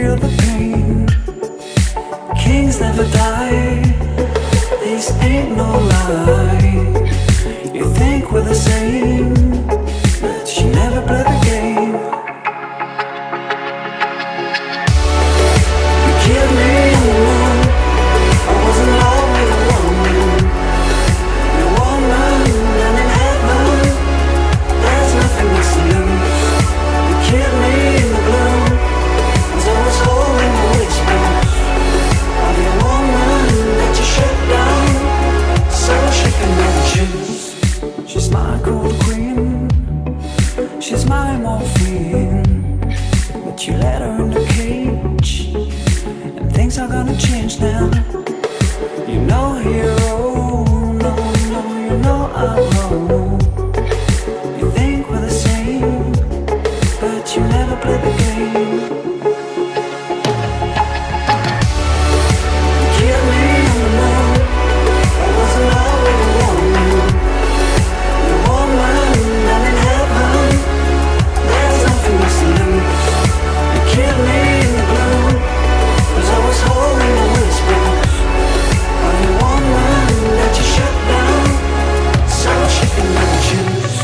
feel the pain. Kings never die, this ain't no lie. You think we're the same, but you never play the game. You killed me in the moon, I was in love with a woman. The woman and in heaven, there's nothing else to lose. You killed me in the blue, as I was holding the whispers of your woman that you shut down, so she can never choose. She's my cold queen, she's my morphine, but you let her in the cage, and things are gonna change now. You know, hero, no, no, you know I'm wrong. You think we're the same, but you never play the game. You killed me on the moon, I was in love with a woman. The woman and in heaven, there's nothing else to lose. You killed me in the blue, as I was holding the whispers of the woman that you shut down, so she can never choose.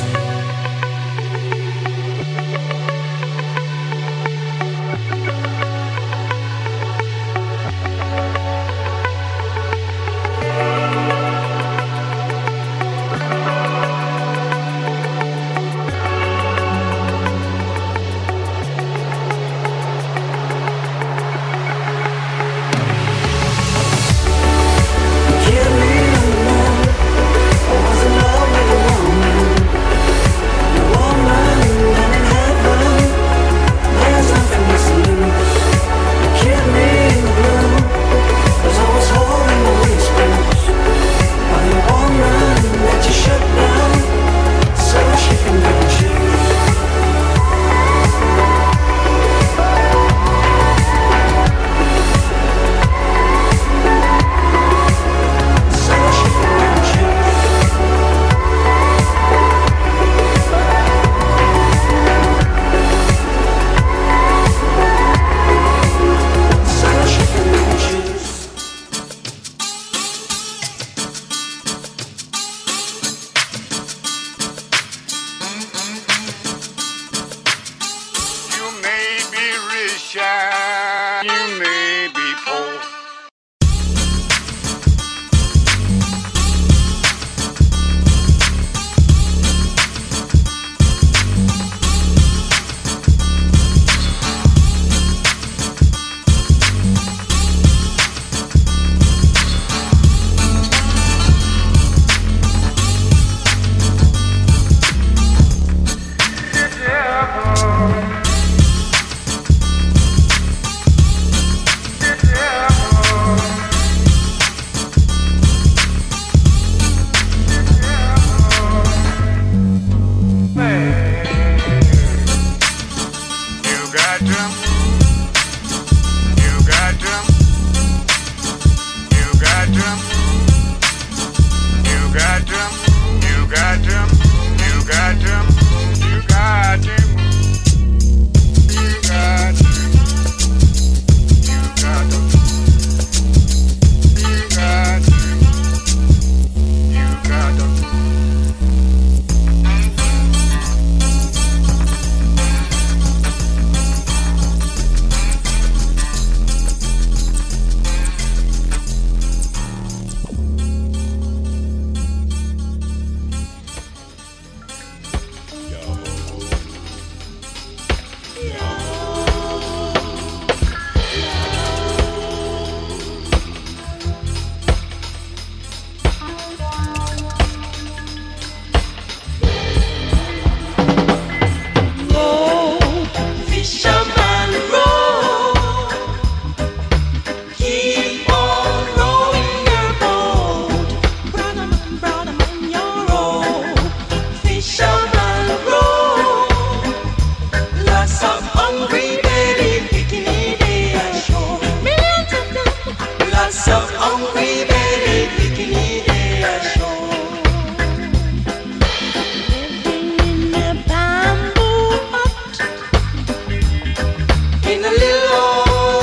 in a little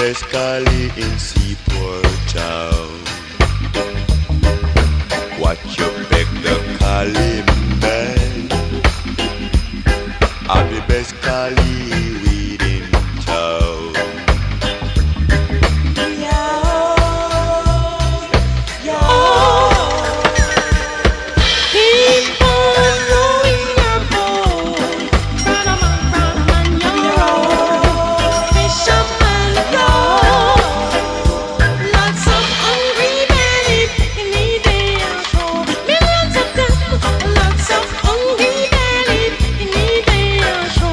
best collie in Seaport Town. Watch your back, the collie man. I'm the best collie weed in town. Keep on rolling your boat, Branaman, yo. Fisherman, yo. Lots of hungry belly in the day of show. Millions of them, lots of hungry belly in the day of show.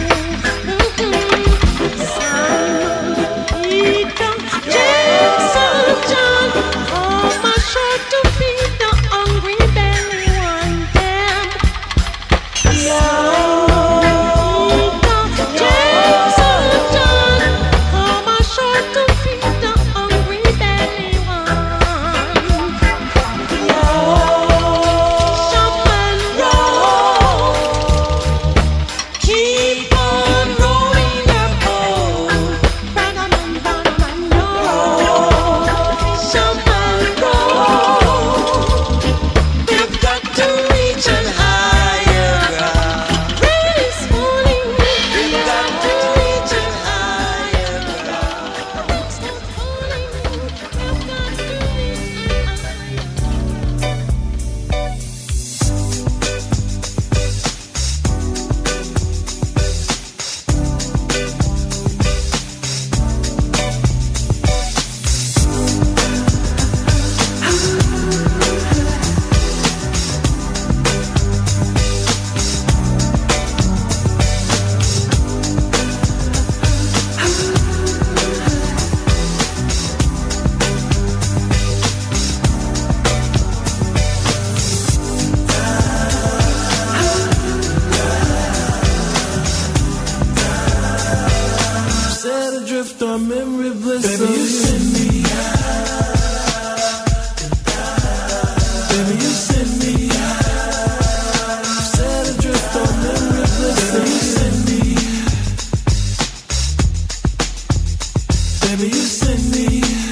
Simon, Peter, James, and John, all my short to feed the hungry belly one them. Simon, Peter, James, and John, all my short to feed the hungry belly one. Fisherman, row, keep on rolling your boat, Branaman, yo. Fisherman, row, we've got to reach an higher ground. Rain is falling, we've got to reach an higher ground. It's not falling, we've got to reach an Set adrift on memory bliss. Baby, you send me Baby, you send me Set adrift on memory bliss. Baby, you send me Baby, you send me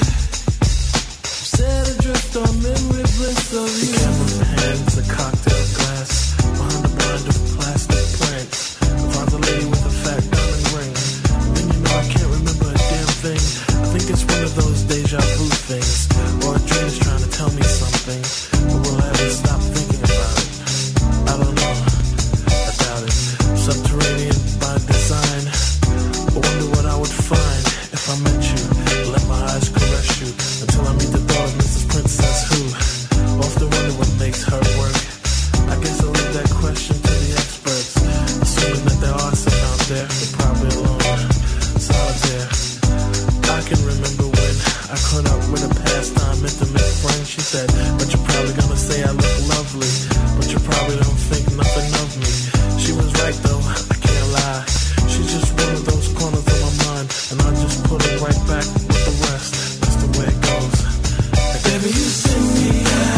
Set adrift on memory bliss of you. The camera pans a cocktail glass behind a blind of plastic plants. Finds a lady with a fat diamond ring. Then you know I can't remember a damn thing. I think it's one of those deja vu things, or a dream is trying to tell me something, but will I ever stop thinking about it? I don't know. I doubt it. Subterranean by design. I wonder what I would find if I met you. Let my eyes caress you until I meet the daughter of Mrs. Princess who. Often wonder what makes her work. I guess I'll leave that question to the experts. Assuming that there are some out there, they're probably alone, solitaire. I can remember when I caught up with a pastime intimate friend. She said, but you're probably gonna say I look lovely, but you probably don't think nothing of me. She was right though, I can't lie. She's just one of those corners of my mind, and I just put it right back with the rest. That's the way it goes. Baby, you send me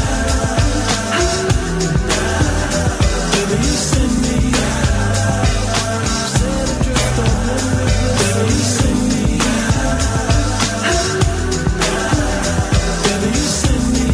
Baby, you send me Set adrift on memory bliss. Baby, you send me Baby, you send me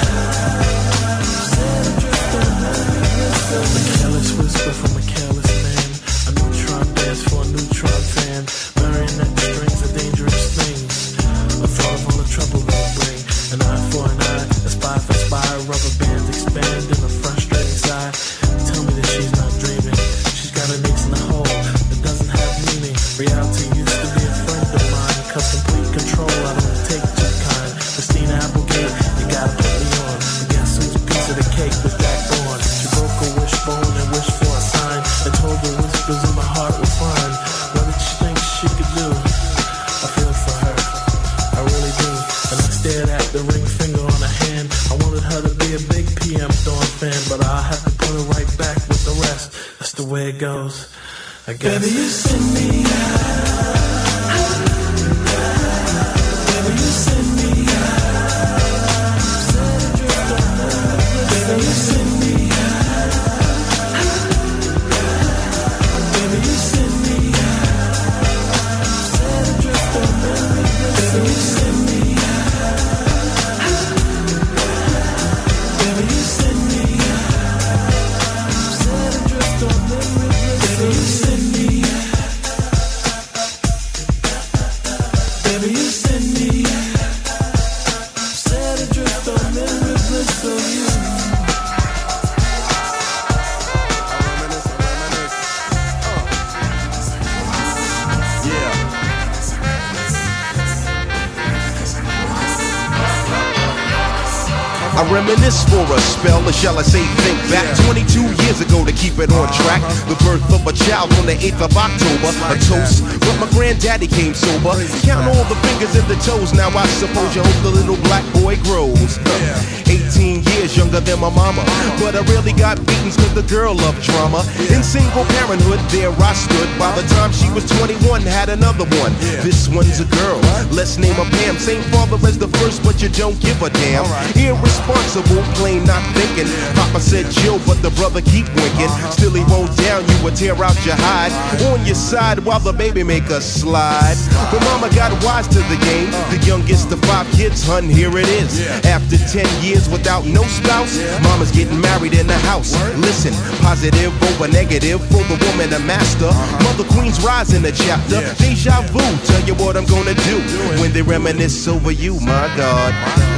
Set adrift on memory bliss. A careless whisper from a careless man. A neutron dance for a neutron fan. Marionette strings are dangerous things. A thought of all the trouble they bring. An eye for an eye, a spy for spy. Rubber bands expand in a frustrating sigh. Tell me that she's not dreaming. She's got an ace in the hole that doesn't have meaning. Reality used to be a friend of mine. Cause complete control, I don't take too kind. Christina Applegate, you gotta put me on. But guess whose piece of the cake was Jack Bourne? She broke a wishbone and wished for a sign, and told the whispers in my heart were fine. What did she think she could do? I feel for her, I really do. And I stared at the ring finger on her hand. I wanted her to be a big PM Dawn fan, but I'll have to put her right back with the rest. That's the way it goes, I guess. Baby, you send me Baby, you send me Set adrift on memory bliss. Baby, you send me Baby, you send me Set adrift on memory bliss. I reminisce for a spell, or shall I say think back 22 years ago to keep it on track. The birth of a child on the 8th of October, a toast, but my granddaddy came sober. Count all the fingers and the toes, now I suppose you hope the little black boy grows. 18 years younger than my mama, but I really got beatings cause the girl loved drama. In single parenthood, there I stood. By the time she was 21, had another one. This one's a girl, let's name her Pam. Same father as the first, but you don't give a damn. Irresponsible, plain not thinking. Papa said chill, but the brother keep winking. Still he won't down you or tear out your hide. On your side while the baby make a slide. But mama got wise to the game. The youngest of 5 kids, hun, here it is. After 10 years without no spouse, mama's getting married in the house. Listen, positive over negative for the woman a master. Mother Queen's rise in the chapter. Deja vu, tell you what I'm gonna do when they reminisce over you, my God.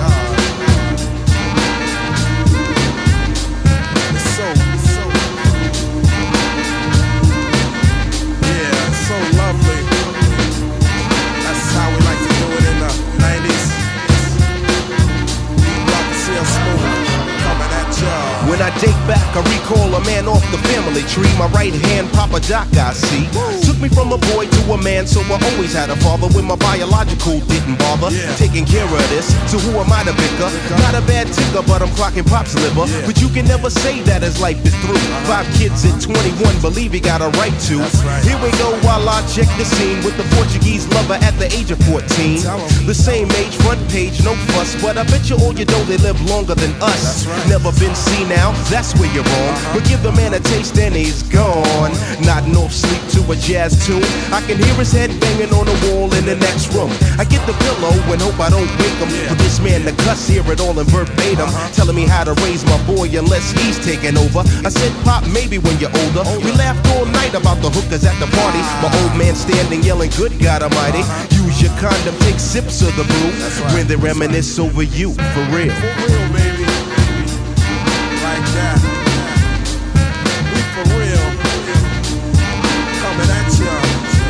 When I date back, I recall a man off the family tree. My right hand, Papa Doc, I see. Took me from a boy to a man, so I always had a father when my biological didn't bother taking care of this. So who am I to bicker? Not a bad ticker, but I'm clocking Pop's liver. But you can never say that his life is through. 5 kids at 21, believe he got a right to. Here we go while I check the scene with the Portuguese lover at the age of 14. The same age, front page, no fuss, but I bet you all you know they live longer than us. Never been seen now, that's where you're wrong. But give the man a taste and he's gone. Nodding off sleep to a jazz tune. I can hear his head banging on the wall in the next room. I get the pillow and hope I don't wake him. For this man to cuss, hear it all in verbatim, telling me how to raise my boy unless he's taking over. I said, Pop, maybe when you're older. We laughed all night about the hookers at the party. My old man standing yelling, good God Almighty. Use your condom, take sips of the brew when they reminisce over you, for real. For real, baby. Like that. We for real. Coming at ya.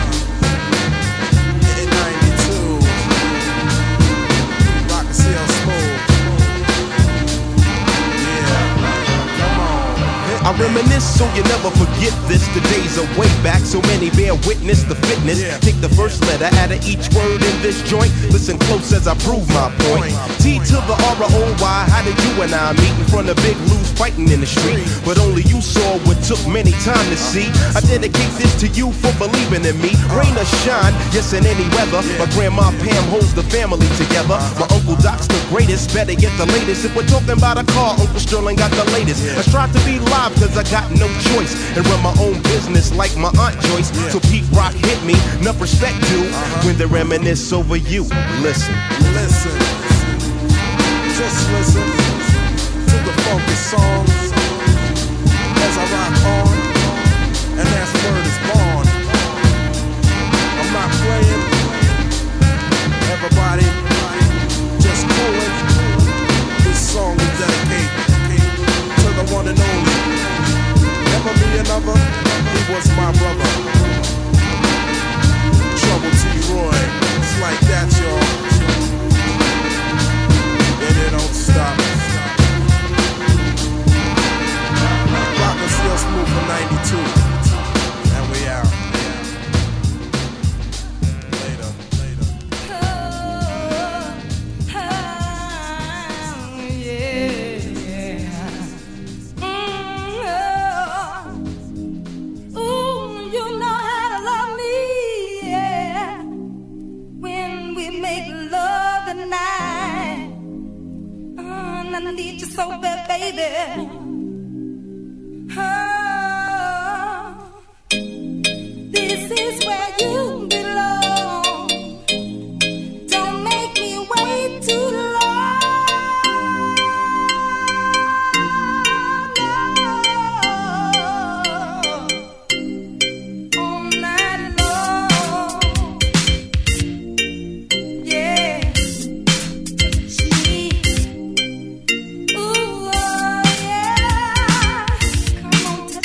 In 92. Rock and CL Smooth. Yeah. Come on. I reminisce so you never forget this. The days are way back, so many bear witness the fitness. Take the first letter out of each word in this joint. Listen close as I prove my point. T to the R-O-Y, how did you and I meet in front of Big Lou's fighting in the street? But only you saw what took many time to see. I dedicate this to you for believing in me. Rain or shine, yes in any weather. My grandma Pam holds the family together. My Uncle Doc's the greatest, better get the latest. If we're talking about a car, Uncle Sterling got the latest. I strive to be live cause I got no choice, and run my own business like my Aunt Joyce. So Pete Rock hit me, enough respect due when they reminisce over you. Listen. Listen. Just listen to the funky songs as I rock on, and that's word is born. I'm not playing. Everybody just coolin'. This song we dedicate to the one and only. Never be another, he was my brother. Trouble T. Roy, it's like that, y'all. And it don't stop. Rock and still smooth for 92. And we out. Later, later. You know how to love me, yeah. When we make love tonight, I need you so bad, baby. This is where you belong. Don't make me wait too long. All night long. Yeah. Sweet. Ooh, oh, yeah. Come on,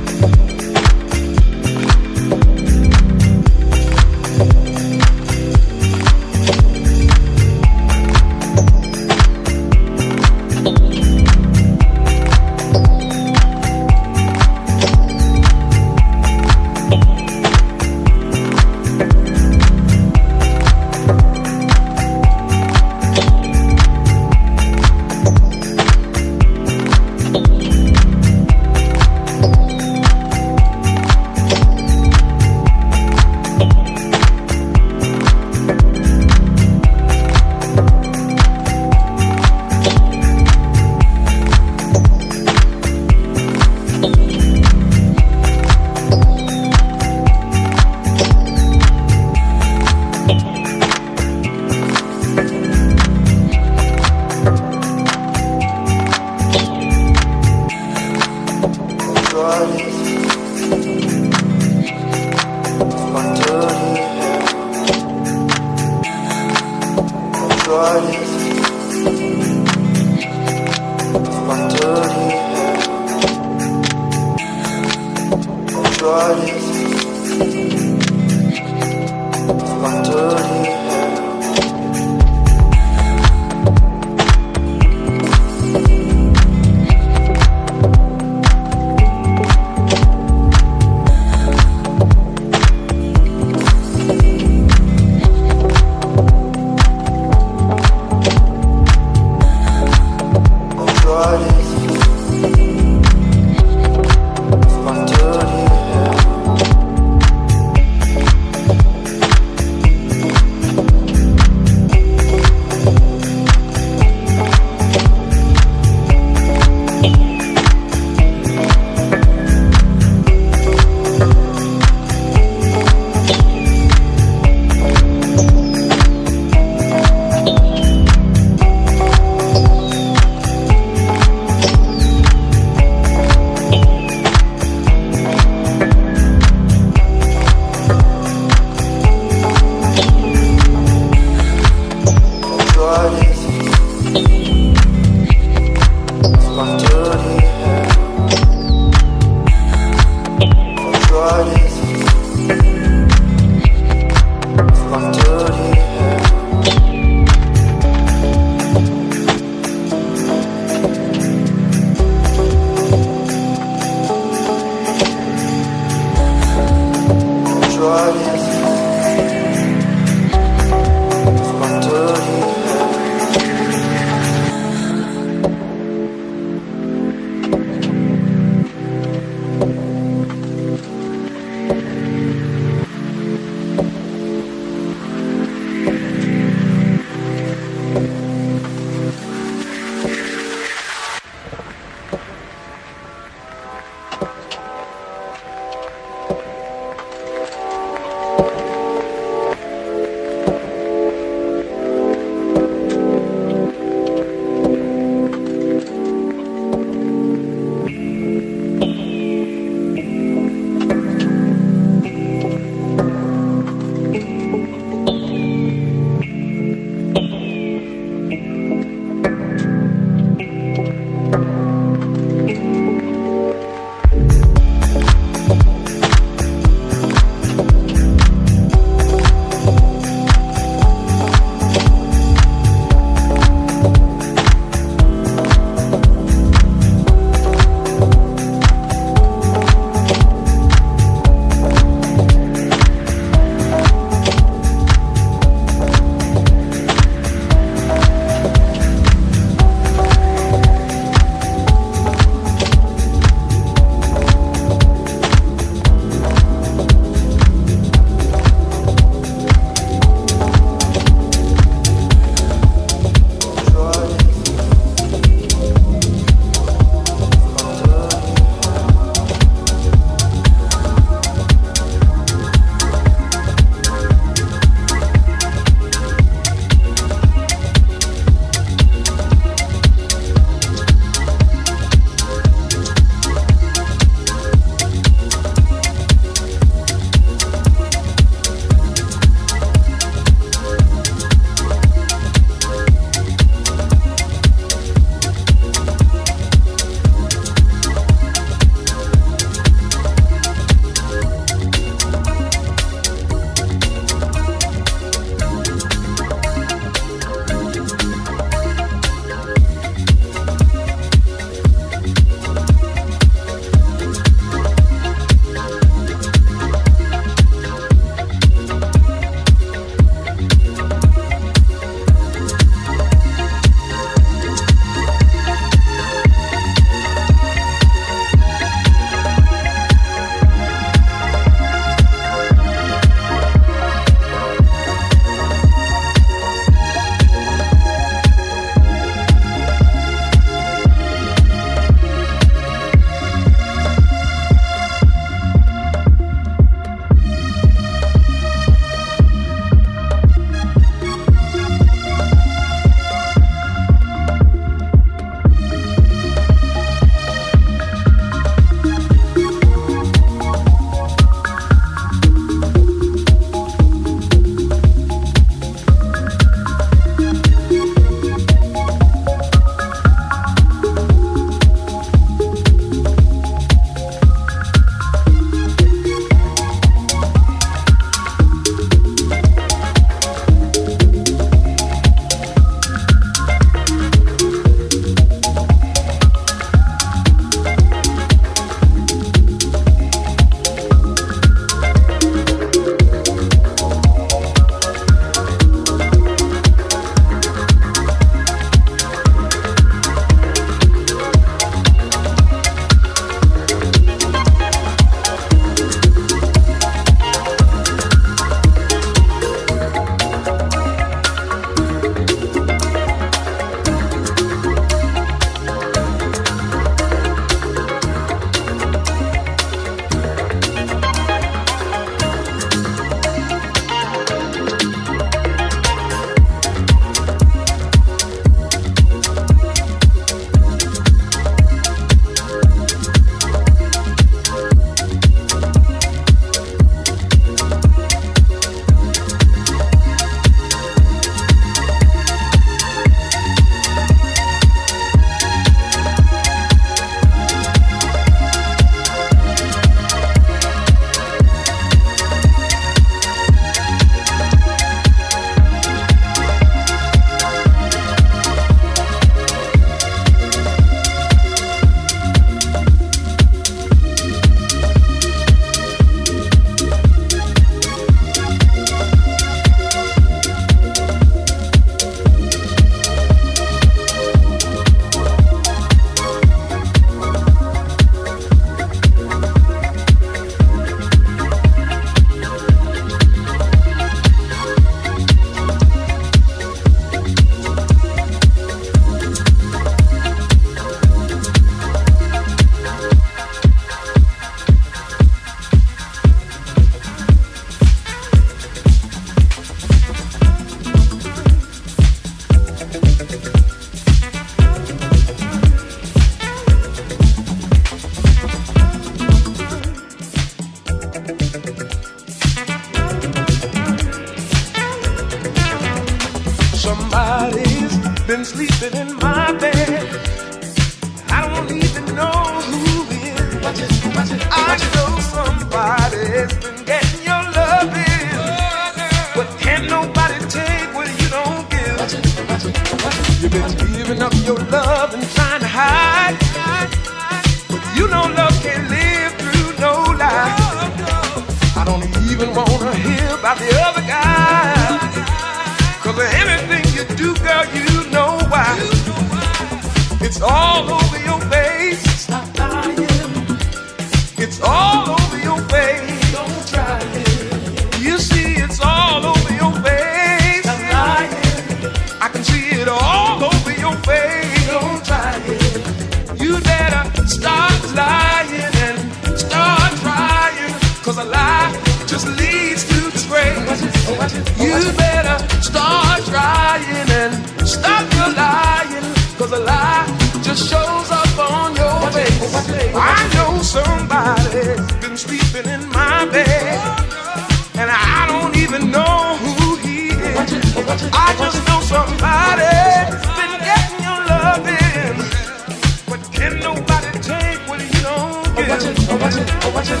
somebody's been getting your loving, but can't nobody take what you don't give. You've been giving up your love and trying to hide, but you know love can't live through no lie. I don't even wanna hear about the other guy, 'cause of anything you do, girl, you know why. It's all over your face. Stop lying. It's all over your face. Don't try it. You see, it's all over your face. Stop lying. I can see it all over your face. Don't try it. You better stop lying and start trying, 'cause a lie just leads to disgrace. You better start trying and stop your lying, 'cause a lie just shows up on your face. I know somebody's been sleeping in my bed, and I don't even know who he is. I just know somebody's been getting your loving, but can nobody take what you don't give.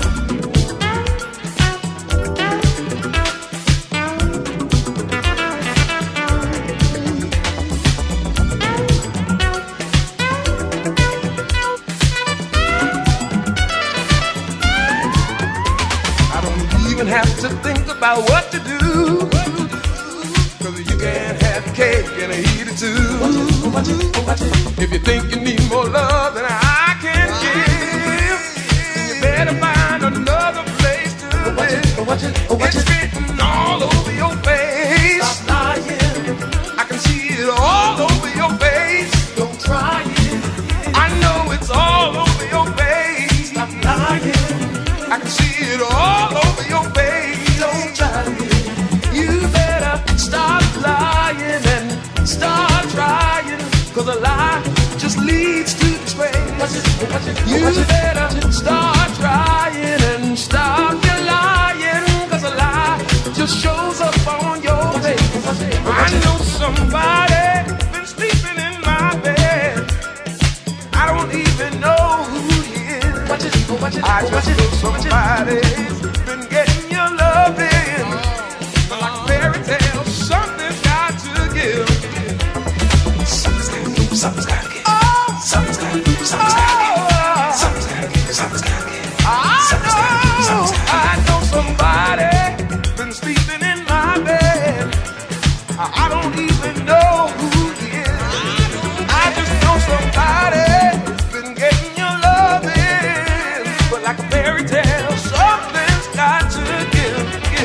Have to think about what to do, 'cause you can't have cake and eat it too. If you think you need more love than I can give, then you better find another place to live. It's written all over your face. Stop lying. I can see it all over your face. Don't try it. I know it's all over your face. Stop lying. I can see it all over your face. Don't try it. You better stop lying and start trying, 'cause a lie just leads to disgrace. You better start trying and stop your lying, 'cause a lie just shows up on your face. I know somebody been sleeping in my bed. I don't even know who he is. I just know somebody's been getting your loving, but like fairy tales, something's got to give. Something's gotta give. Something's gotta give. Something's gotta give. Something's gotta give. Something's gotta give. I know somebody been sleeping in my bed. I don't even know who he is. I just know somebody's been getting your loving, but like a fairy tale, something's got to give.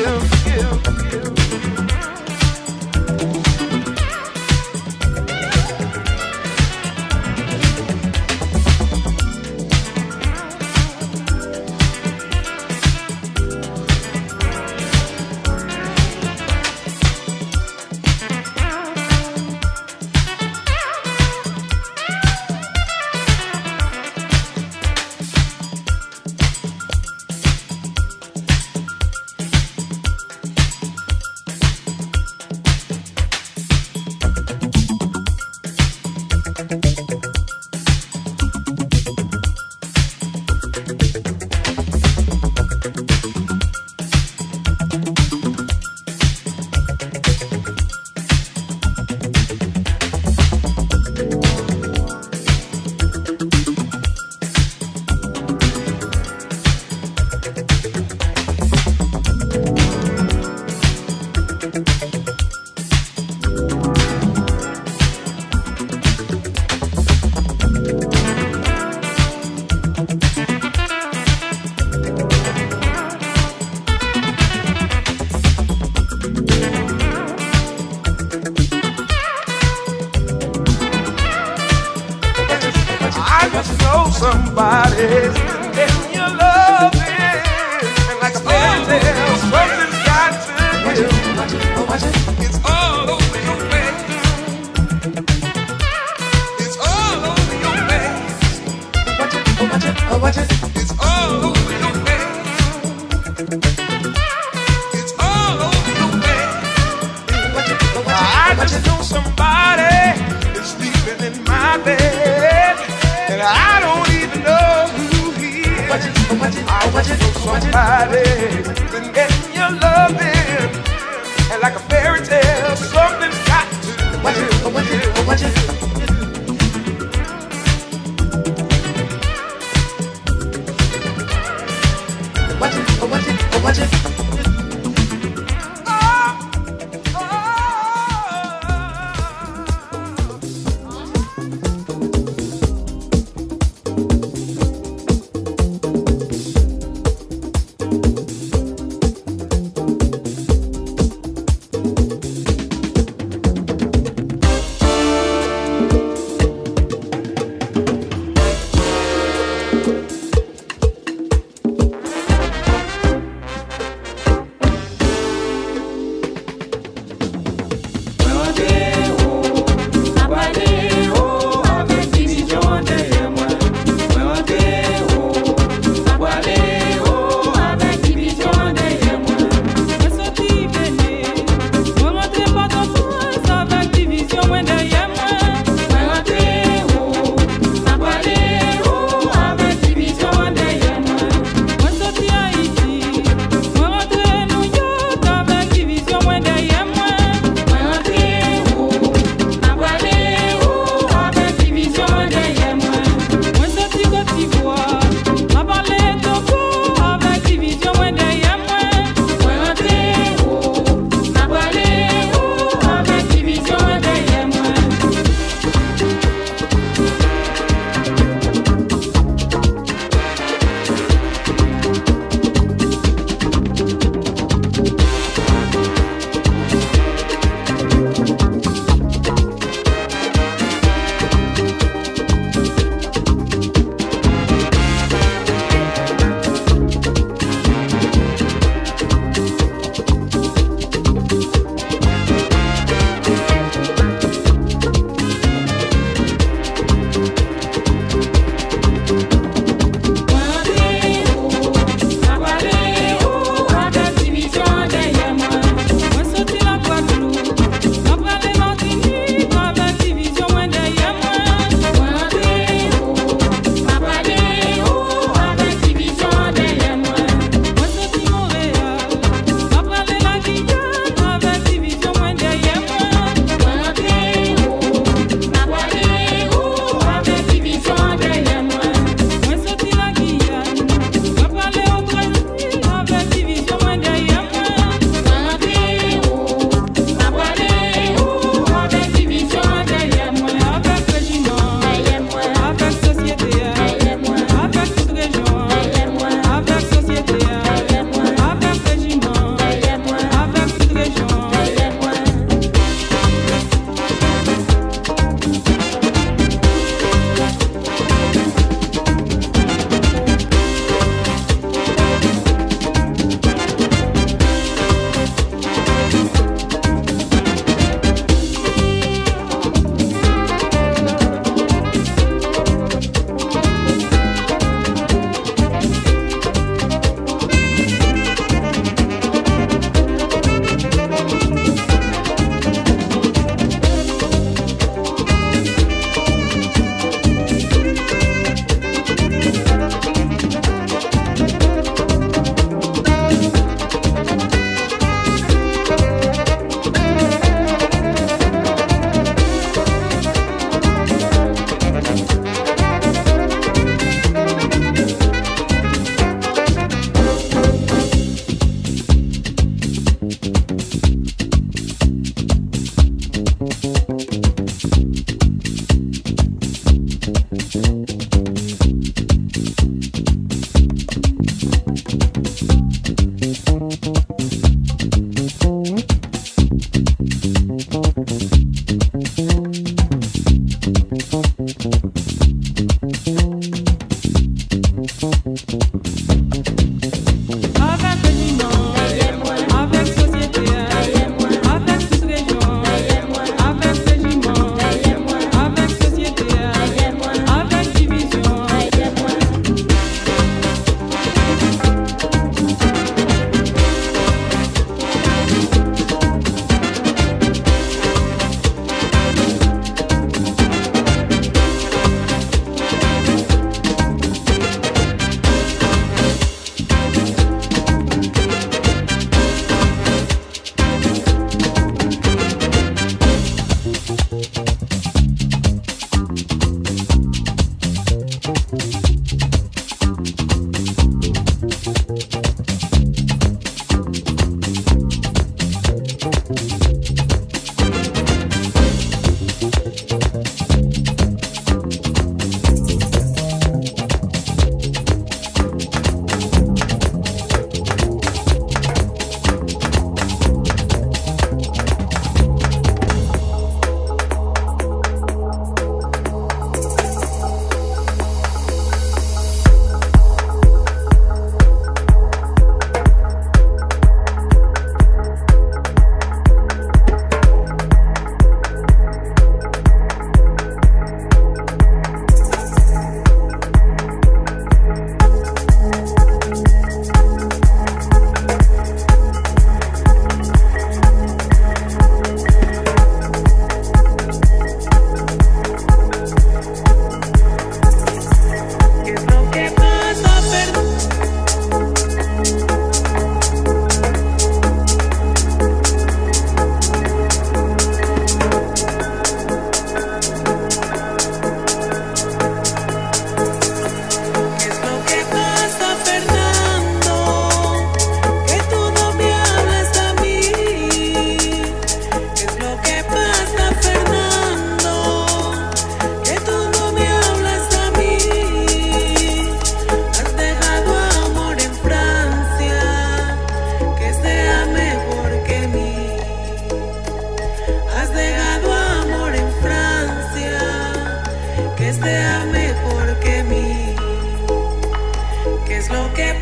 Somebody's getting your loving, and like a fairy tale, something's got to give. It's all over your face. It's all over your face. It's all over your face. It's all over your face. I just know somebody is sleeping in my bed, and I don't even know who he is. I want you for somebody been getting your loving, and like a fairy tale, something's got to. What you.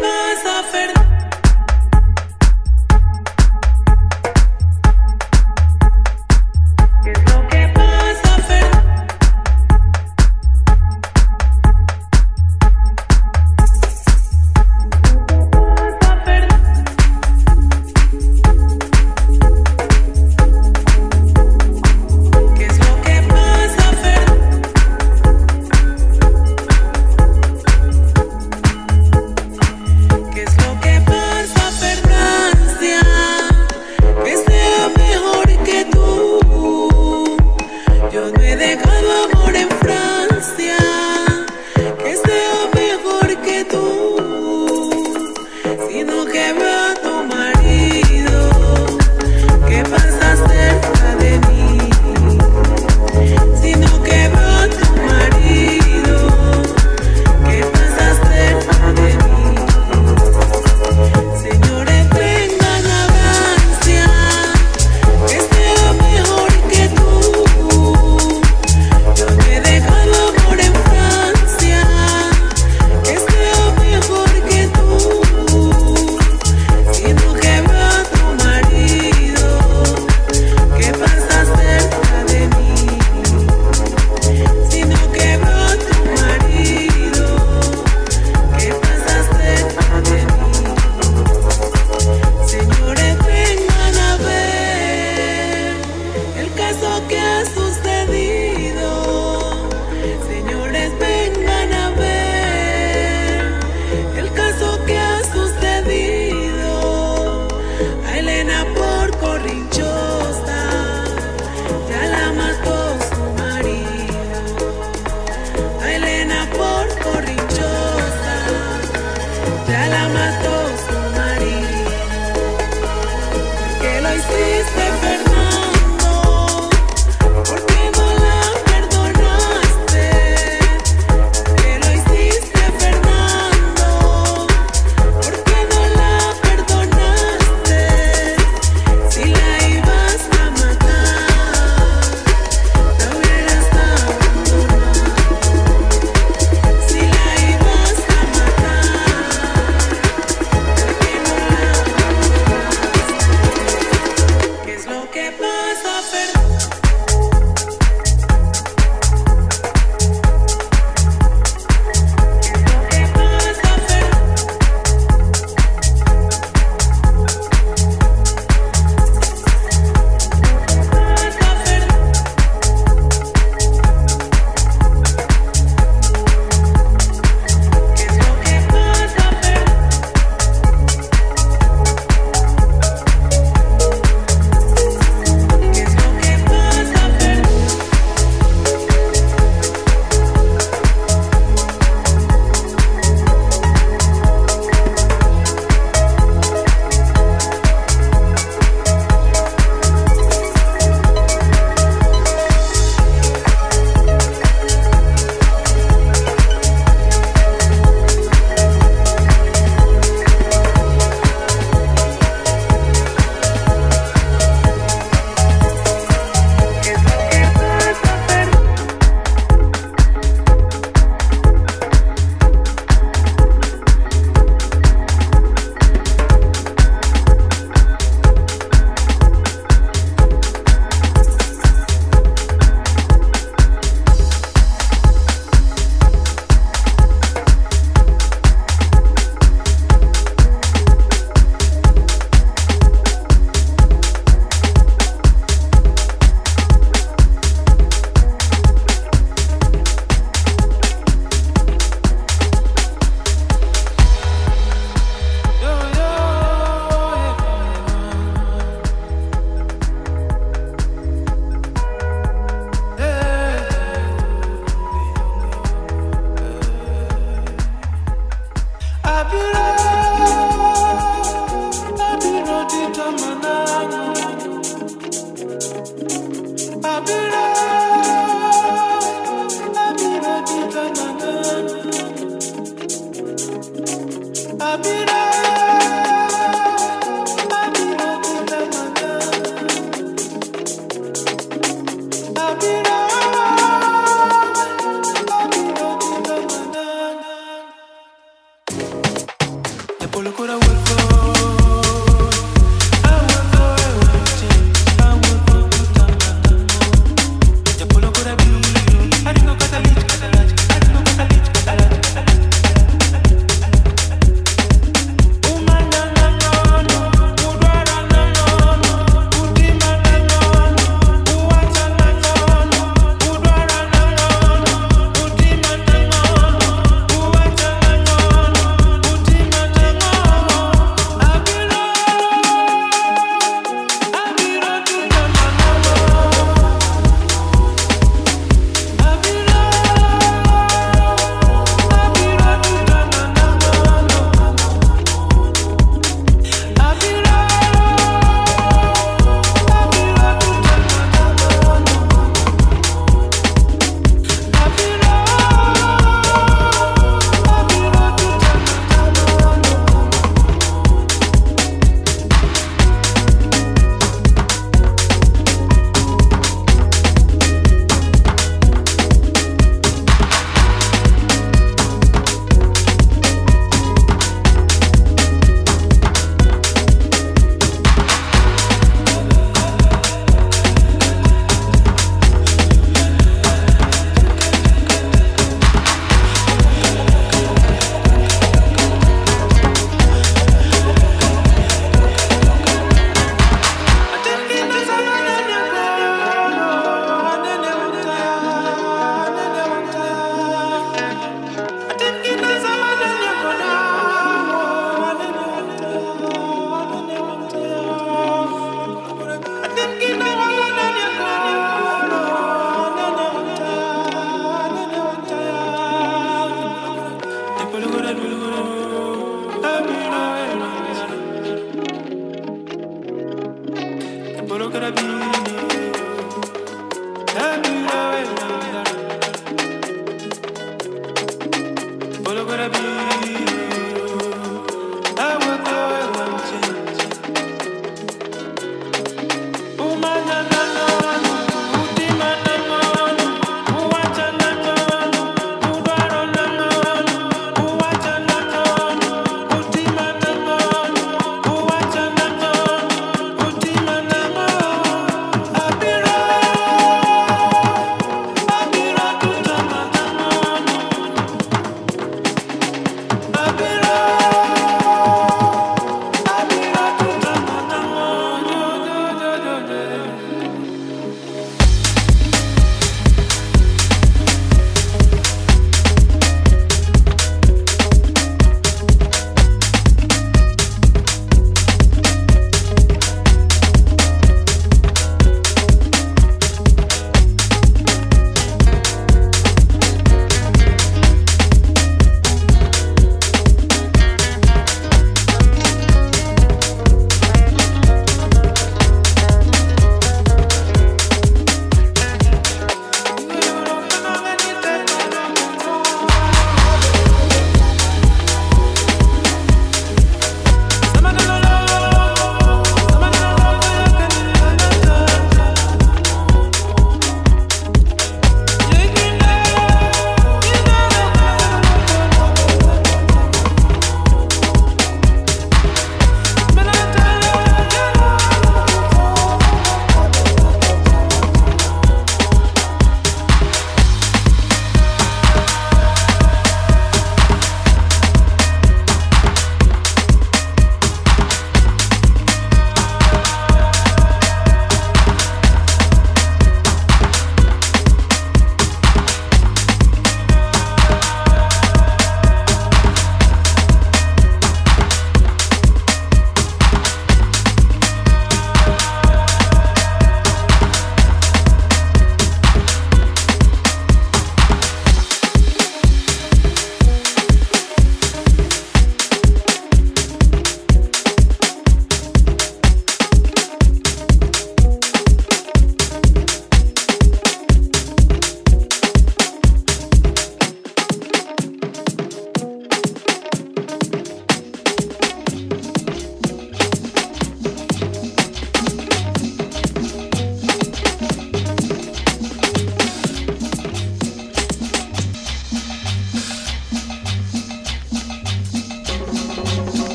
pasa, Fer? ¿Qué es lo que pasa, Fer? ¿Qué es lo que pasa, Fer? ¿Qué es lo que pasa, Francia? Que sea mejor que tú. Yo no he dejado amor en Francia. Que sea mejor que tú. Sino que veo a tu marido que pasa cerca de mí. Sino que veo a tu marido que pasa cerca de mí. Señores, vengan a Francia, que sea mejor que tú. Yo no he dejado amor en Francia, que sea mejor que tú. Sino que veo a tu marido que pasa cerca de mí. Sino que veo a tu marido que pasa cerca de mí. Señores, vengan a ver el caso que ha sucedido. Señores, vengan a ver el caso que ha sucedido. A Elena por corrinchosa ya la mató su marido. A Elena por corrinchosa ya la mató su marido. ¿Por qué lo hiciste, Fernando? ¿Por qué no la perdonaste? ¿Por qué lo hiciste, Fernando? ¿Por qué no la perdonaste? Si la ibas a matar, la hubieras abandonado. Si la ibas a matar, ¿por qué no la perdonaste? ¿Qué es lo que pasa, Fer? ¿Qué es lo que pasa, Fer? Pasa, Fer. ¿Qué es lo que pasa, Fer? ¿Qué es lo que pasa, Fer? ¿Qué es lo que pasa, Fer?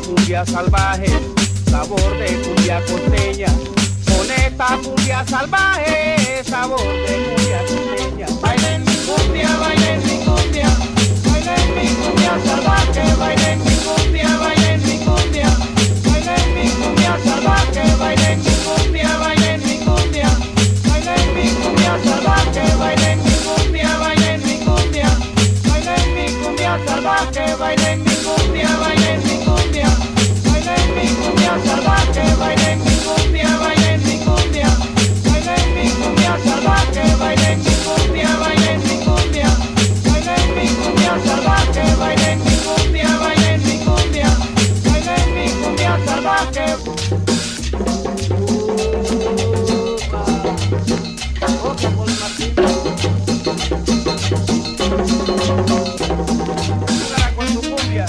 cumbia salvaje, sabor de cumbia costeña. Con esta cumbia salvaje, sabor de cumbia costeña. Bailen mi cumbia, bailen mi cumbia, bailen mi cumbia salvaje, bailen mi cumbia, bailen mi cumbia, bailen mi cumbia salvaje, bailen mi cumbia, bailen mi cumbia, bailen mi cumbia salvaje, bailen mi cumbia, bailen mi cumbia, bailen mi cumbia salvaje, bailen mi cumbia, bailen mi cumbia, bailen mi cumbia salvaje, bailen mi cumbia, bailen mi cumbia, bailen mi cumbia salvaje, bailen mi cumbia, bailen mi cumbia, bailen mi cumbia salvaje, bailen mi cumbia, bailen mi cumbia, bailen mi cumbia salvaje. Con tu cumbia.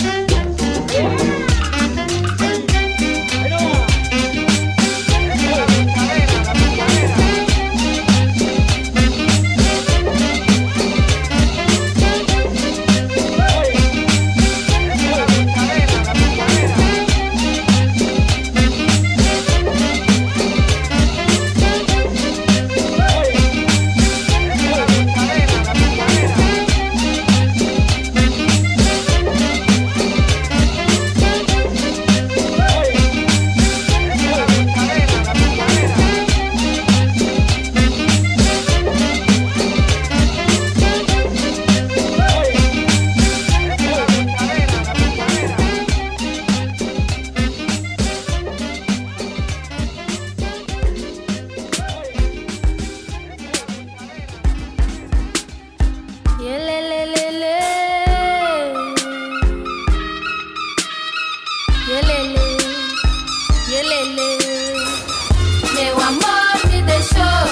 Meu amor me deixou,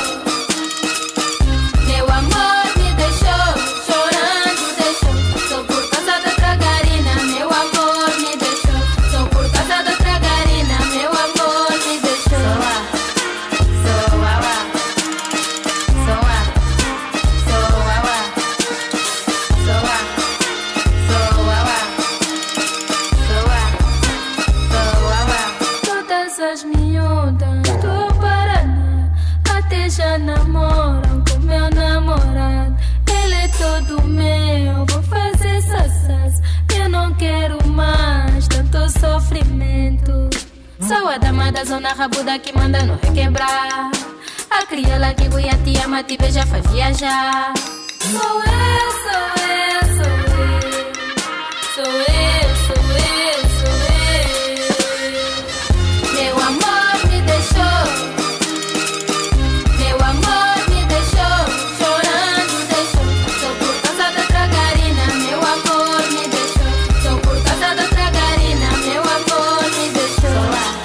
meu amor me deixou, chorando deixou. Sou por causa da tragarina, meu amor me deixou. Sou por causa da tragarina, meu amor me deixou. Todas as miúdas do Paraná até já namoram com meu namorado. Ele é todo meu, vou fazer sassas. Eu não quero mais tanto sofrimento. Sou a dama da zona rabuda que manda no requebrar. A crioula que te ama, te beija, faz viajar. Sou eu, sou eu, sou eu. Sou eu, sou eu, sou eu. Meu amor me deixou, meu amor me deixou, chorando deixou. Sou por causa da tragarina, meu amor me deixou. Sou por causa da tragarina, meu amor me deixou.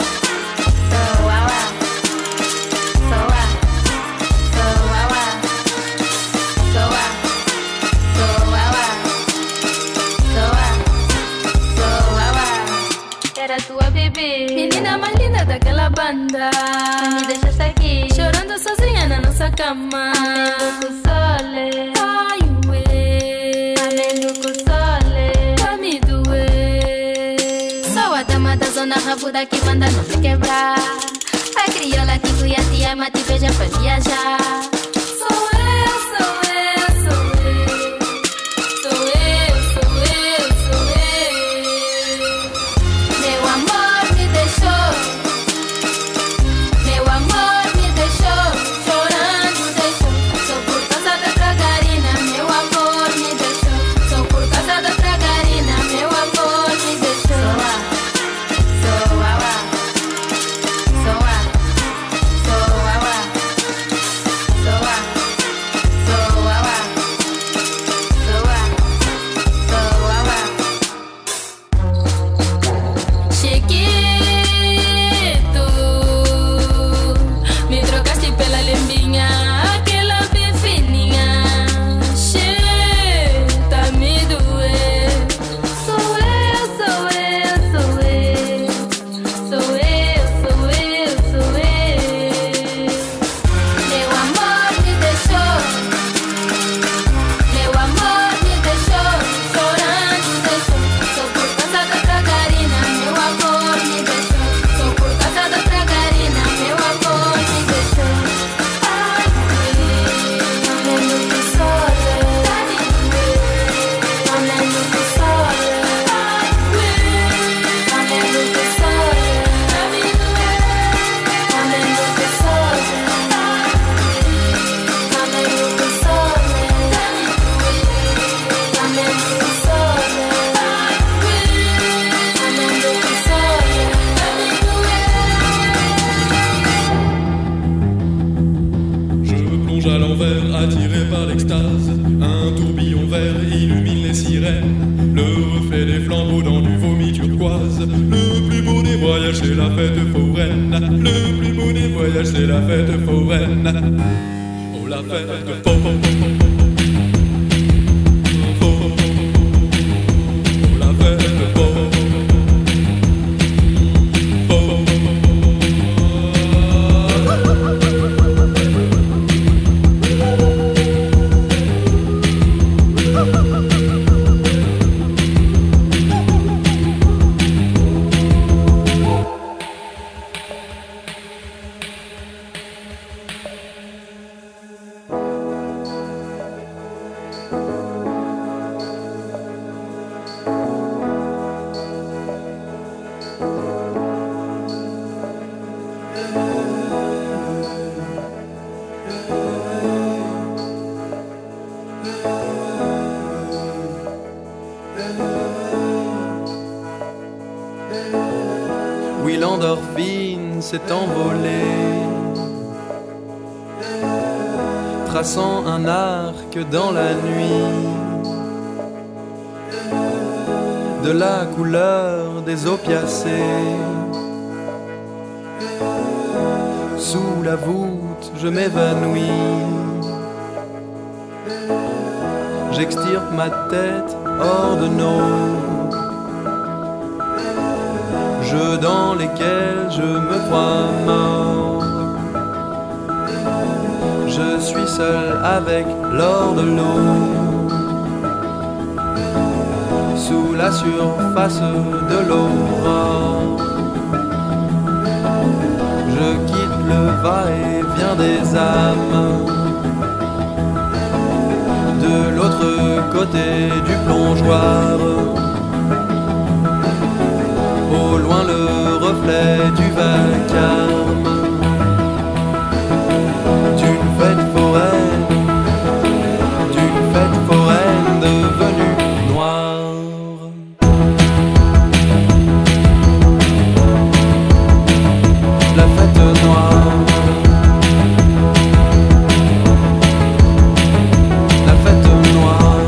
Era tua bebê, menina mais linda daquela banda. Me deixaste aqui, chorando sozinha na nossa cama. Amendo com sole, ai ué. Amendo com sole, pra me doer. Sou a dama da zona rabuda que manda não te quebrar. A crioula que te ama, te beija, faz viajar. Sou eu, sou eu, sou eu. Sou eu, sou eu, sou eu. Meu amor me deixou, meu amor me deixou, chorando deixou. Sou por causa da tragarina, meu amor me deixou. Sou por causa da tragarina, meu amor me deixou. Sou extase. Un tourbillon vert illumine les sirènes. Le reflet des flambeaux dans du vomi turquoise. Le plus beau des voyages, c'est la fête foraine. Le plus beau des voyages, c'est la fête foraine. Oh, la fête foraine. Oui, l'endorphine s'est envolée, traçant un arc dans la nuit, de la couleur des opiacés. Sous la voûte, je m'évanouis, j'extirpe ma tête hors de nos jeux dans lesquels je me crois mort. Je suis seul avec l'or de l'eau, sous la surface de l'aurore. Je quitte le va-et-vient des âmes, de l'autre côté du plongeoir. Au loin le reflet du vacarme d'une fête foraine devenue noire. La fête noire, la fête noire.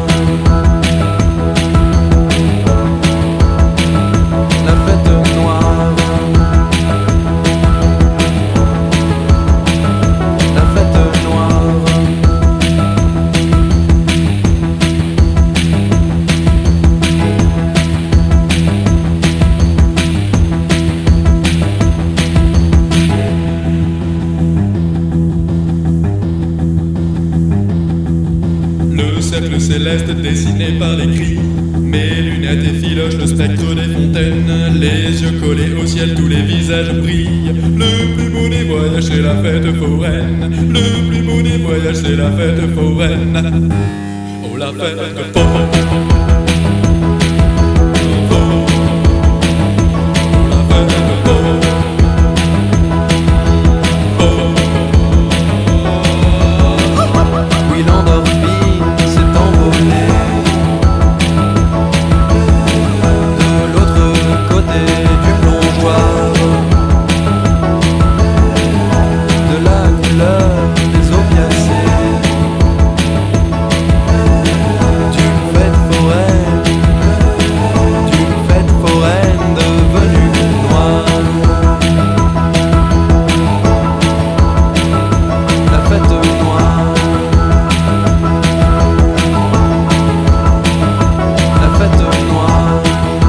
La fête noire, la fête noire. Le cercle céleste dessiné par les cris, mes lunettes effilochent le spectre des fontaines. Les yeux collés au ciel, tous les visages brillent. Le plus beau des voyages, c'est la fête foraine. Le plus beau des voyages, c'est la fête foraine. Oh, la fête foraine. Oui, l'endorphine s'est envolée, de l'autre côté du plongeoir, de la couleur des opiacés, d'une fête foraine devenue noire. La fête noire, la fête noire.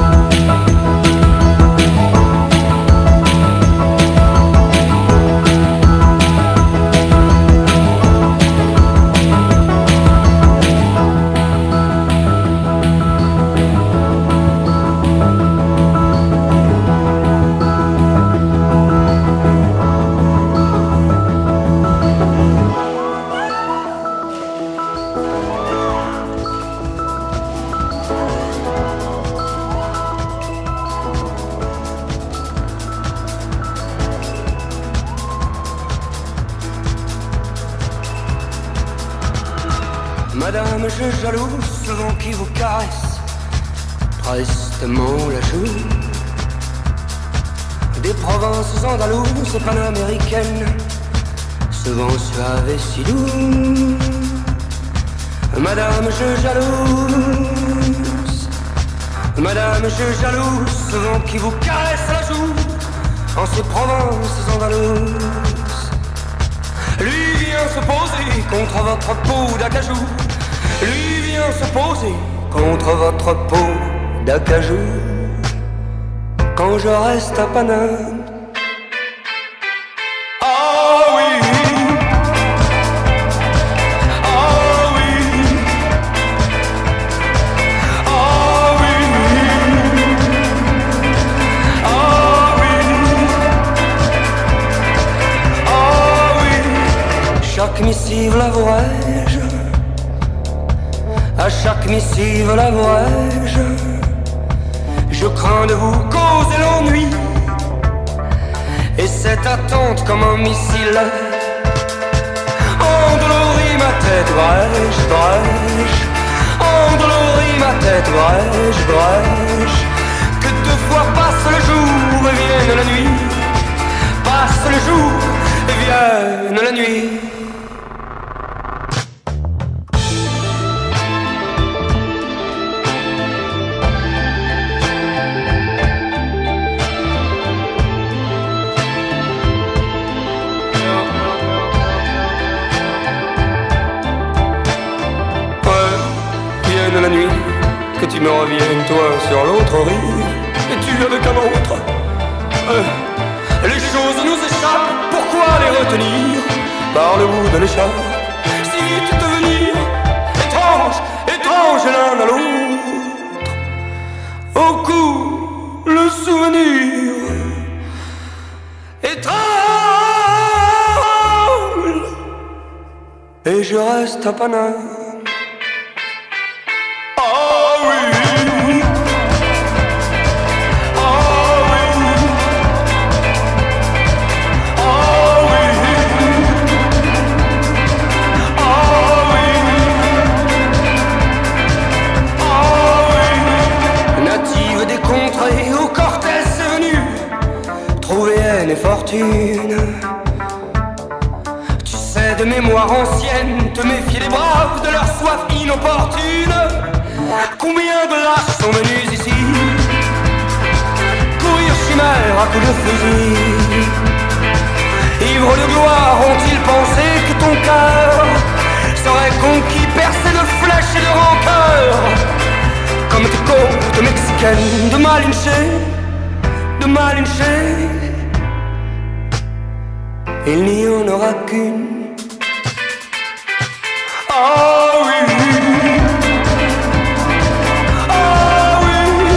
Madame, je jalouse ce vent qui vous caresse prestement la joue. Des provinces andalouses et panaméricaines, ce vent suave et si doux. Madame, je jalouse. Madame, je jalouse ce vent qui vous caresse la joue en ces provinces andalous. Lui vient se poser contre votre peau d'acajou. Lui vient se poser contre votre peau d'acajou. Quand je reste à Paname. Ah oui. Ah oui. Ah oui. Ah oui. Ah oui. Chaque missive l'avouerai-je. À chaque missive l'avouerai-je. Je crains de vous causer l'ennui. Et cette attente comme un missile endolorit ma tête, brèche, brèche. Endolorit ma tête, brèche, brèche. Que deux fois passe le jour et vienne la nuit. Passe le jour et vienne la nuit. La nuit, que tu me reviennes, toi, sur l'autre rive, et tu avec un autre. Les choses nous échappent, pourquoi les retenir par le bout de l'écharpe? Si vite devenir étrange, étrange l'un à l'autre. Au cou, le souvenir étrange. Et je reste à Paname. Et fortune. Tu sais de mémoire ancienne te méfier des braves, de leur soif inopportune. Combien de lâches sont venus ici courir chimère à coups de fusil. Ivres de gloire, ont-ils pensé que ton cœur serait conquis, percé de flèches et de rancœur, comme tes côtes mexicaines de Malinche, de Malinche. Il n'y en aura qu'une. Ah oui. Ah oui.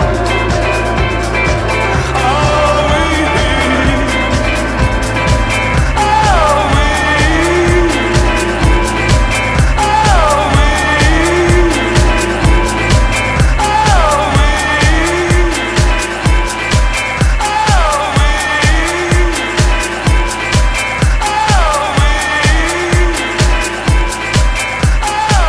Ah oui. Ah oui. Ah oui. Ah oui.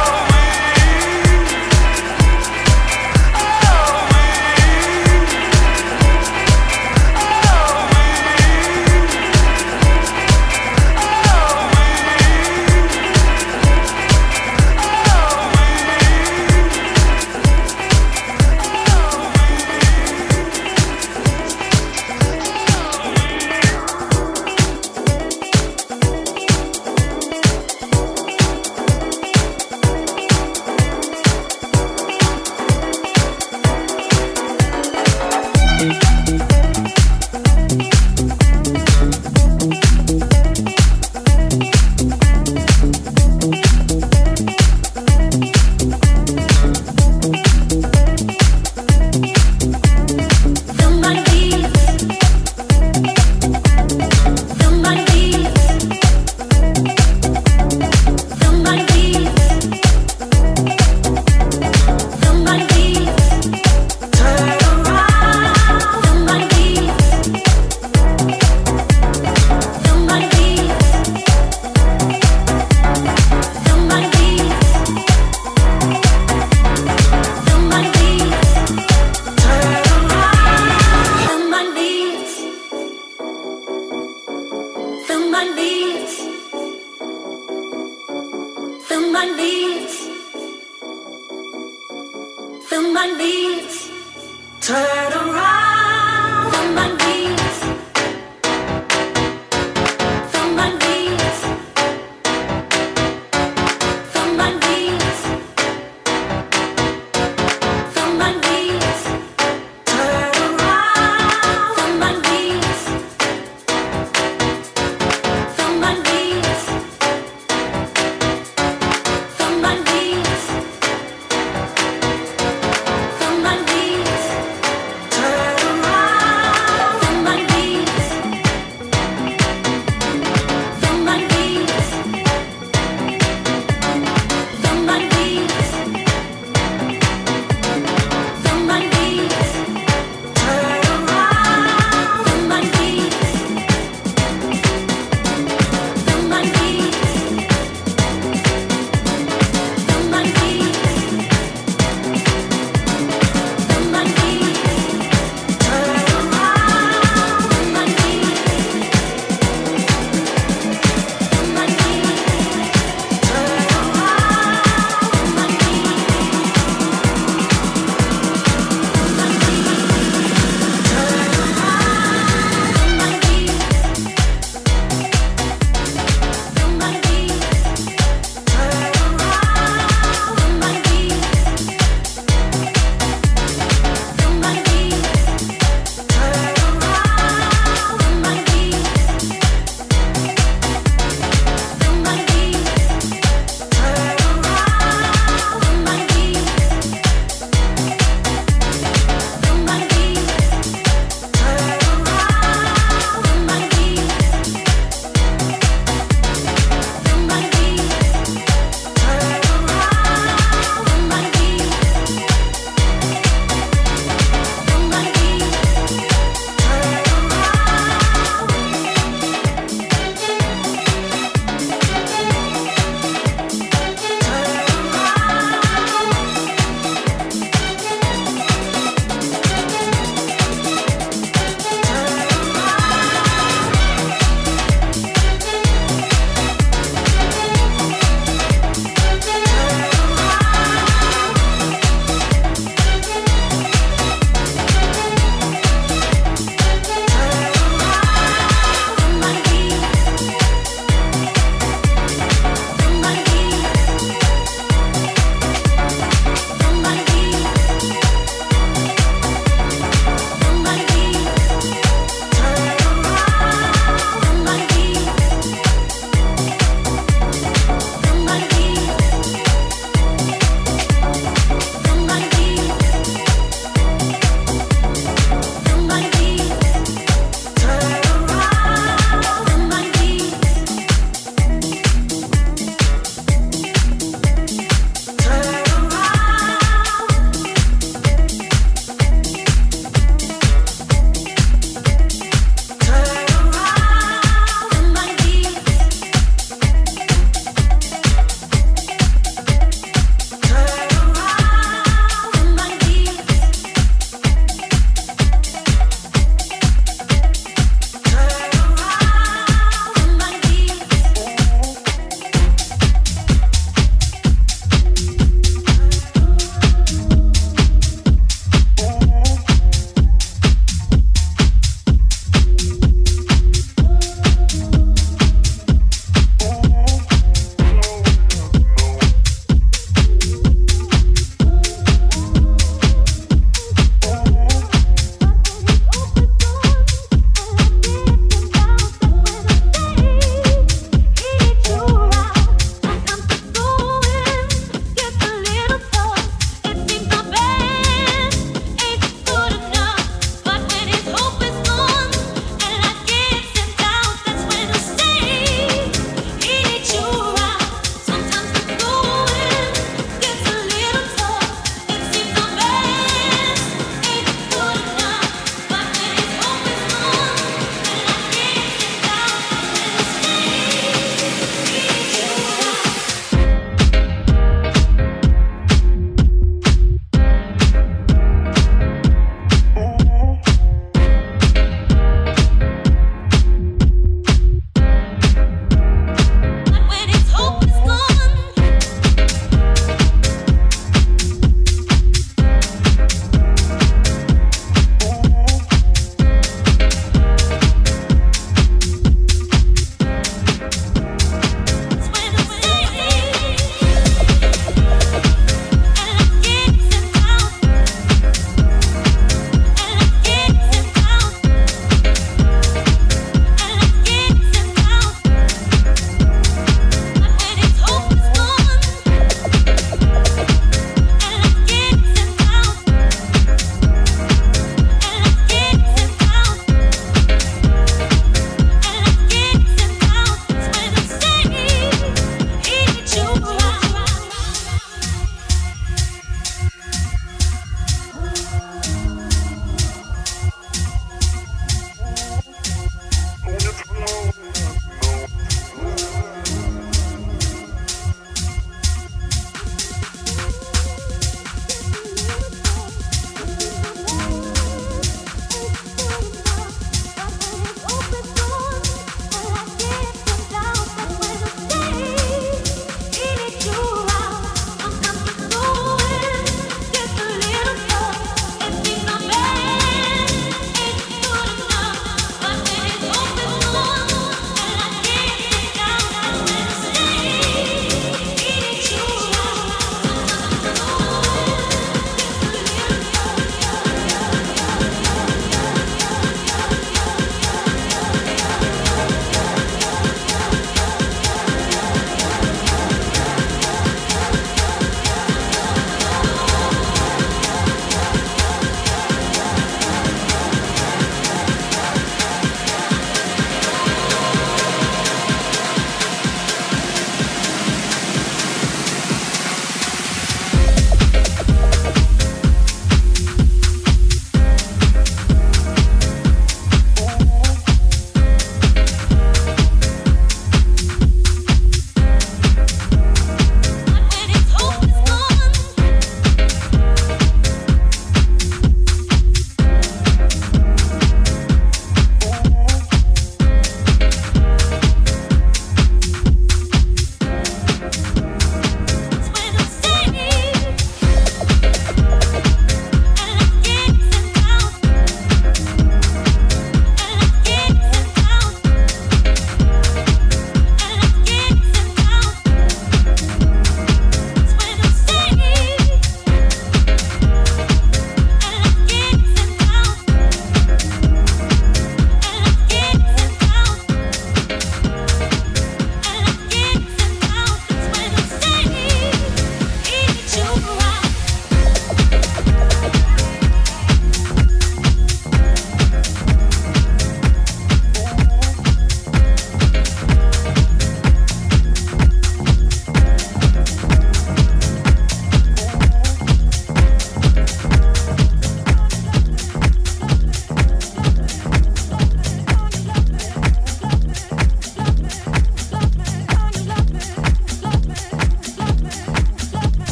my knees, turn around on my knees, from my knees, from my knees, from my knees, turn around on my knees, from my knees, from my knees. From my knees,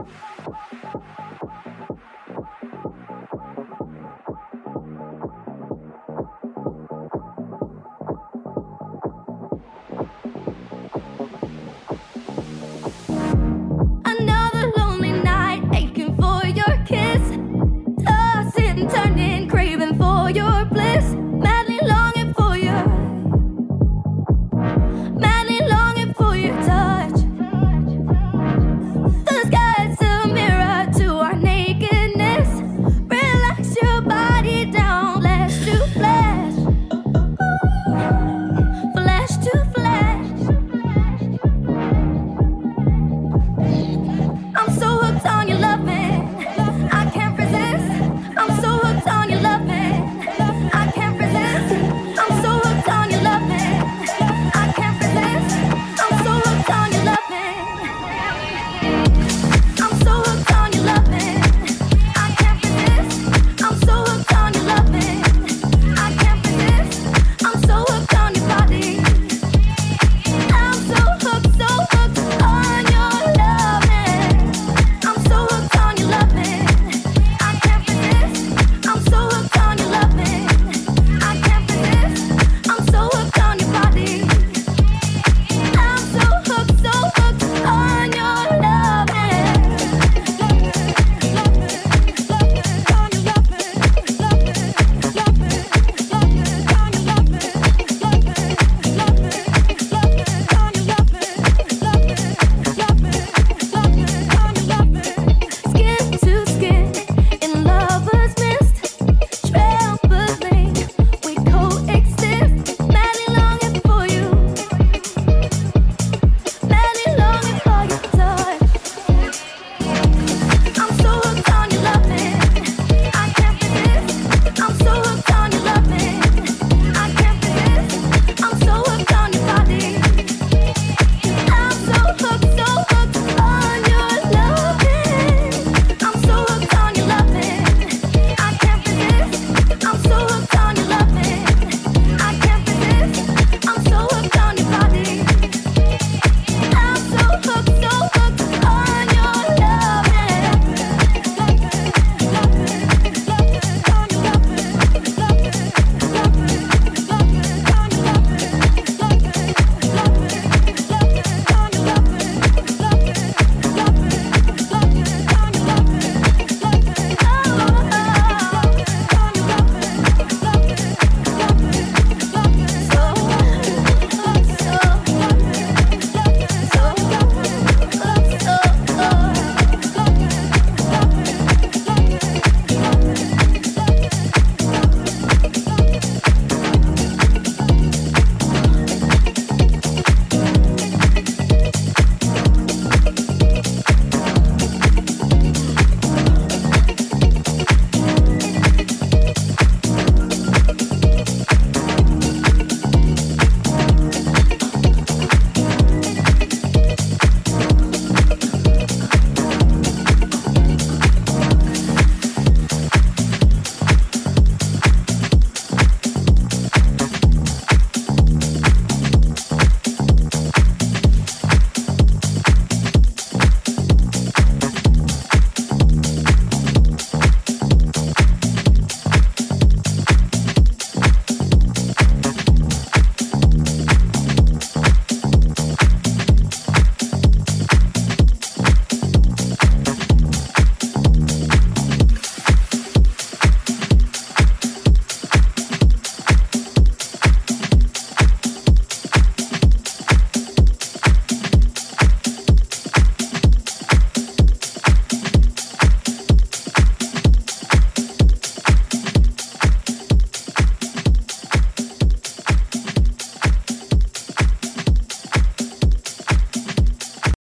Bye.